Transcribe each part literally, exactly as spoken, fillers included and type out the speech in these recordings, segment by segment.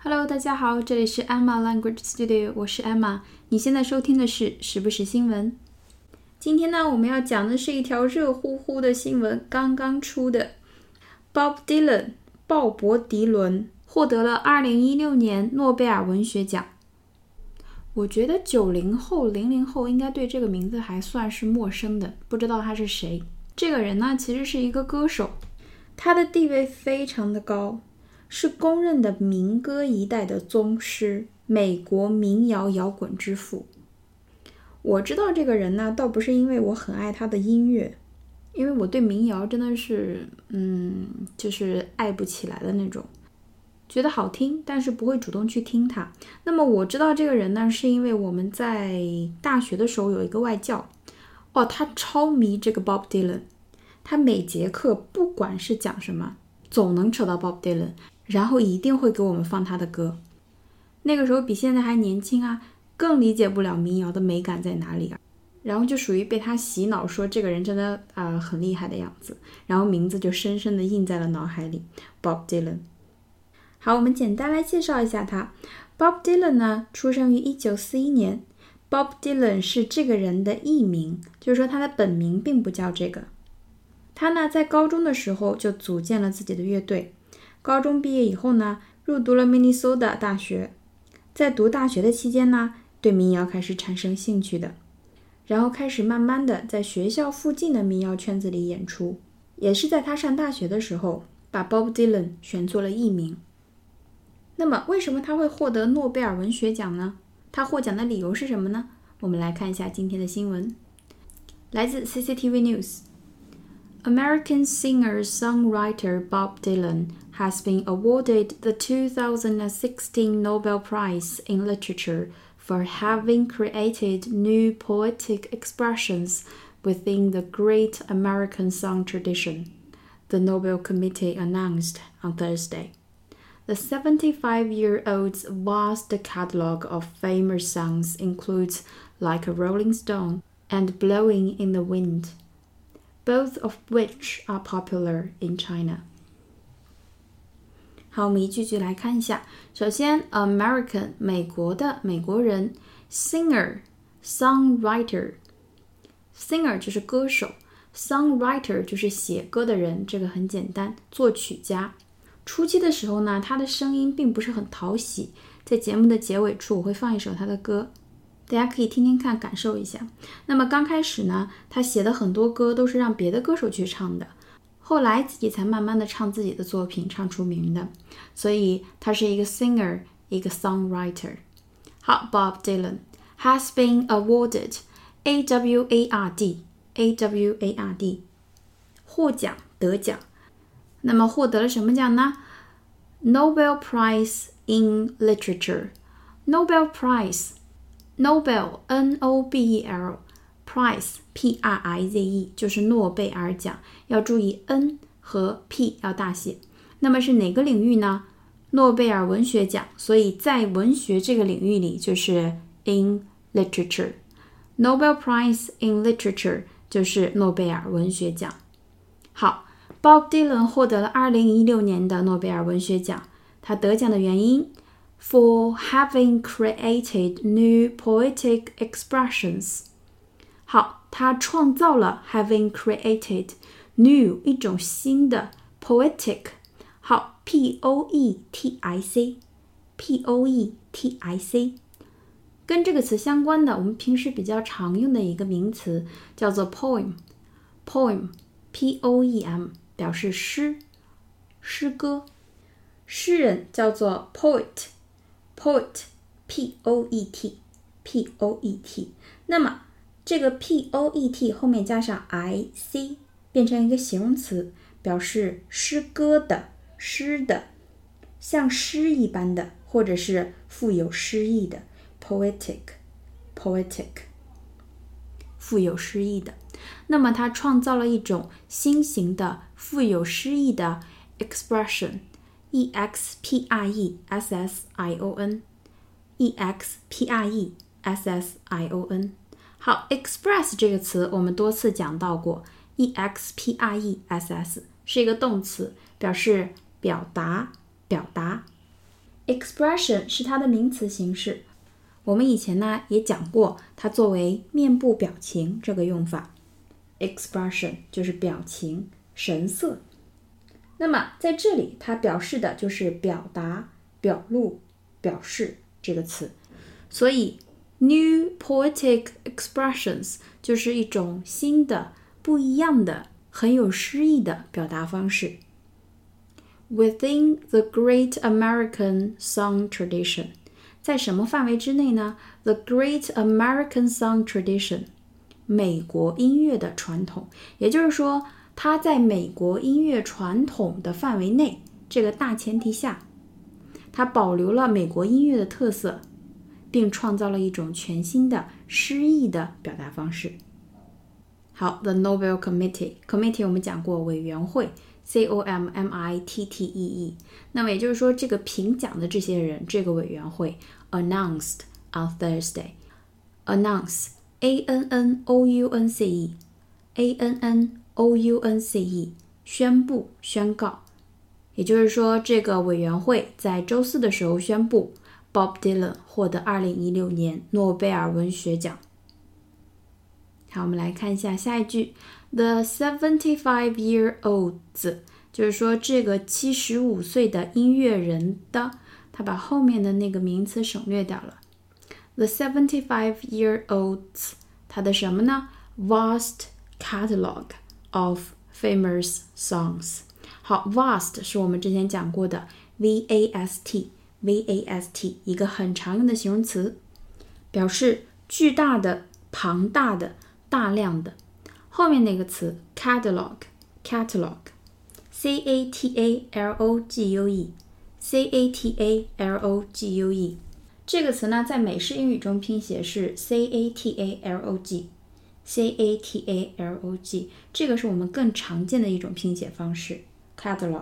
Hello， 大家好，这里是 Emma Language Studio， 我是 Emma。你现在收听的是时不时新闻。今天呢，我们要讲的是一条热乎乎的新闻，刚刚出的。Bob Dylan， 鲍勃迪伦获得了二零一六年诺贝尔文学奖。我觉得九零后、零零后应该对这个名字还算是陌生的，不知道他是谁。这个人呢，其实是一个歌手，他的地位非常的高。是公认的民歌一代的宗师，美国民谣摇滚之父。我知道这个人呢，倒不是因为我很爱他的音乐，因为我对民谣真的是，嗯，就是爱不起来的那种，觉得好听，但是不会主动去听它。那么我知道这个人呢，是因为我们在大学的时候有一个外教，哦，他超迷这个 Bob Dylan， 他每节课不管是讲什么，总能扯到 Bob Dylan。然后一定会给我们放他的歌。那个时候比现在还年轻啊，更理解不了民谣的美感在哪里啊。然后就属于被他洗脑，说这个人真的啊、呃、很厉害的样子，然后名字就深深的印在了脑海里。Bob Dylan。好，我们简单来介绍一下他。Bob Dylan 呢，出生于一九四一年。Bob Dylan 是这个人的艺名，就是说他的本名并不叫这个。他呢，在高中的时候就组建了自己的乐队。高中毕业以后呢，入读了明尼苏达大学。在读大学的期间呢，对民谣开始产生兴趣的，然后开始慢慢的在学校附近的民谣圈子里演出。也是在他上大学的时候，把 Bob Dylan 选做了艺名。那么为什么他会获得诺贝尔文学奖呢？他获奖的理由是什么呢？我们来看一下今天的新闻，来自 C C T V News。American singer-songwriter Bob Dylan has been awarded the two thousand sixteen Nobel Prize in Literature for having created new poetic expressions within the great American song tradition, the Nobel Committee announced on Thursday. The seventy-five-year-old's vast catalogue of famous songs includes Like a Rolling Stone and Blowing in the Wind.Both of which are popular in China. 好，我们一句句来看一下。首先 American 美国的美国人， Singer Songwriter Singer 就是歌手， Songwriter 就是写歌的人，这个很简单，作曲家。初期的时候呢，他的声音并不是很讨喜，在节目的结尾处我会放一首他的歌，大家可以听听看，感受一下。那么刚开始呢，他写的很多歌都是让别的歌手去唱的，后来自己才慢慢的唱自己的作品，唱出名的。所以他是一个 singer， 一个 songwriter。 好， Bob Dylan has been awarded A W A R D A W A R D 获奖，得奖。那么获得了什么奖呢？ Nobel Prize in Literature。 Nobel Prize Nobel N O B E L Prize P R I Z E 就是诺贝尔奖，要注意 N 和 P 要大写。那么是哪个领域呢？诺贝尔文学奖，所以在文学这个领域里就是 in literature。 Nobel Prize in Literature 就是诺贝尔文学奖。好， Bob Dylan 获得了二零一六年的诺贝尔文学奖。他得奖的原因For having created new poetic expressions。 好，他创造了 having created new 一种新的 poetic。 好， P O E T I C P O E T I C 跟这个词相关的，我们平时比较常用的一个名词叫做 poem poem P O E M 表示诗，诗歌。诗人叫做 poet Poet P O E T P O E T。 那么这个 P O E T 后面加上 I C 变成一个形容词，表示诗歌的，诗的，像诗一般的，或者是富有诗意的 Poetic Poetic 富有诗意的。那么他创造了一种新型的富有诗意的 expression E X P R E S S I O N E X P R E S S I O N。 好， express 这个词我们多次讲到过， E X P R E S S 是一个动词，表示表达表达。 Expression 是它的名词形式，我们以前呢也讲过它作为面部表情这个用法。Expression 就是表情、神色。那么在这里它表示的就是表达、表露、表示这个词，所以 New poetic expressions 就是一种新的、不一样的、很有诗意的表达方式。Within the Great American Song Tradition， 在什么范围之内呢？ The Great American Song Tradition， 美国音乐的传统，也就是说它在美国音乐传统的范围内，这个大前提下，它保留了美国音乐的特色，并创造了一种全新的诗意的表达方式。好 The Nobel Committee Committee 我们讲过委员会 C O M M I T T E E， 那么也就是说这个评奖的这些人，这个委员会 announced on Thursday Announce A N N O U N C E A N N O U N C E 宣布宣告，也就是说这个委员会在周四的时候宣布Bob Dylan 获得二零一六年诺贝尔文学奖。好，我们来看一下下一句 The seventy-five-year-olds 就是说这个七十五岁的音乐人的，他把后面的那个名词省略掉了。The seventy-five-year-olds 他的什么呢？ Vast catalog of famous songs。 好 Vast 是我们之前讲过的 V A S T V A S T 一个很常用的形容词，表示巨大的、庞大的、大量的。后面那个词 catalog catalog C A T A L O G U E C A T A L O G U E 这个词呢在美式英语中拼写是 C A T A L O G C A T A L O G 这个是我们更常见的一种拼写方式 catalog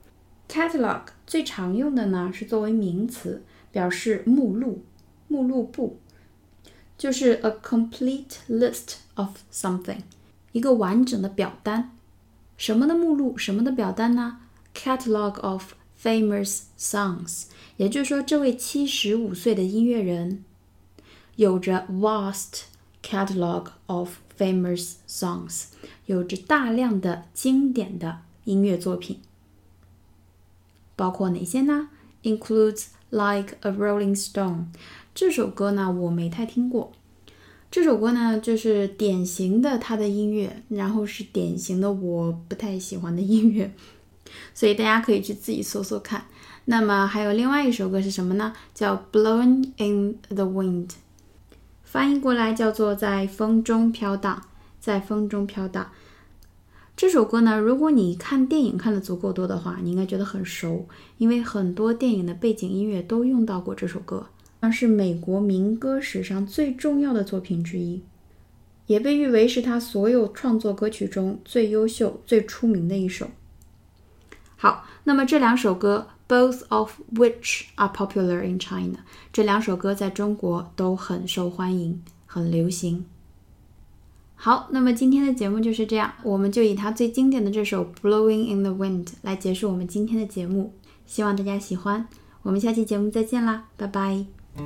Catalog 最常用的呢是作为名词，表示目录、目录簿，就是 a complete list of something， 一个完整的表单。什么的目录，什么的表单呢？ Catalog of famous songs， 也就是说这位七十五岁的音乐人有着 vast catalog of famous songs， 有着大量的经典的音乐作品。包括哪些呢？ Includes Like a Rolling Stone 这首歌呢我没太听过，这首歌呢就是典型的他的音乐，然后是典型的我不太喜欢的音乐，所以大家可以去自己搜搜看。那么还有另外一首歌是什么呢？叫 Blowing in the Wind， 翻译过来叫做在风中飘荡，在风中飘荡。这首歌呢，如果你看电影看的足够多的话，你应该觉得很熟，因为很多电影的背景音乐都用到过这首歌，是美国民歌史上最重要的作品之一，也被誉为是他所有创作歌曲中最优秀、最出名的一首。好，那么这两首歌 both of which are popular in China， 这两首歌在中国都很受欢迎，很流行。好，那么今天的节目就是这样，我们就以它最经典的这首 Blowing in the Wind 来结束我们今天的节目，希望大家喜欢，我们下期节目再见啦，拜拜。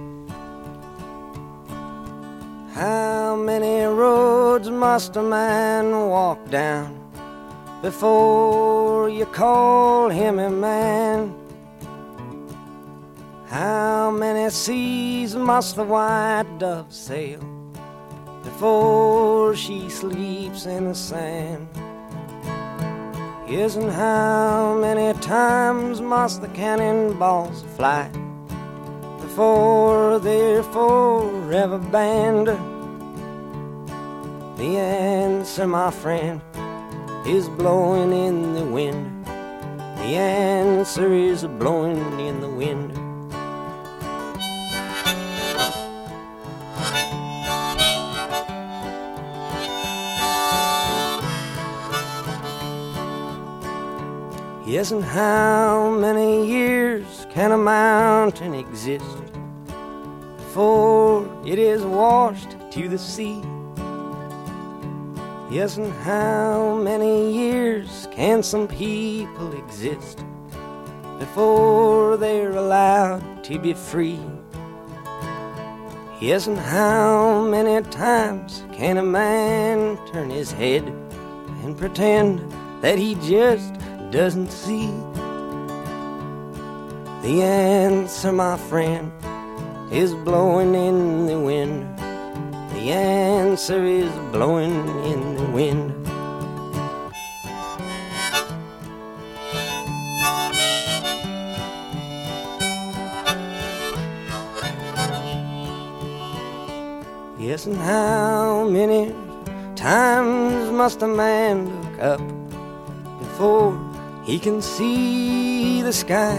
How many roads must a man walk down before you call him a man? How many seas must the white dove sail before she sleeps in the sand? Yes, and how many times must the cannonballs fly before they're forever banned? The answer, my friend, is blowing in the wind. The answer is blowing in the wind. Yes, and how many years can a mountain exist before it is washed to the sea? Yes, and how many years can some people exist before they're allowed to be free. Yes, and how many times can a man turn his head and pretend that he just doesn't see? The answer, my friend, is blowing in the wind. The answer is blowing in the wind. Yes, and how many times must a man look up before he can see the sky?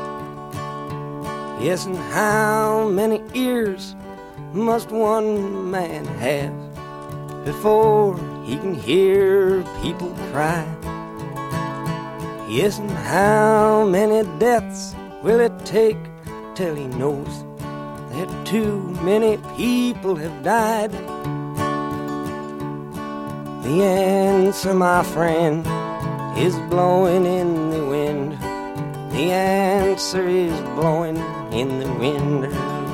Yes, and how many ears must one man have before he can hear people cry? Yes, and how many deaths will it take till he knows that too many people have died? The answer, my friend, is blowing in the wind. The answer is blowing in the wind.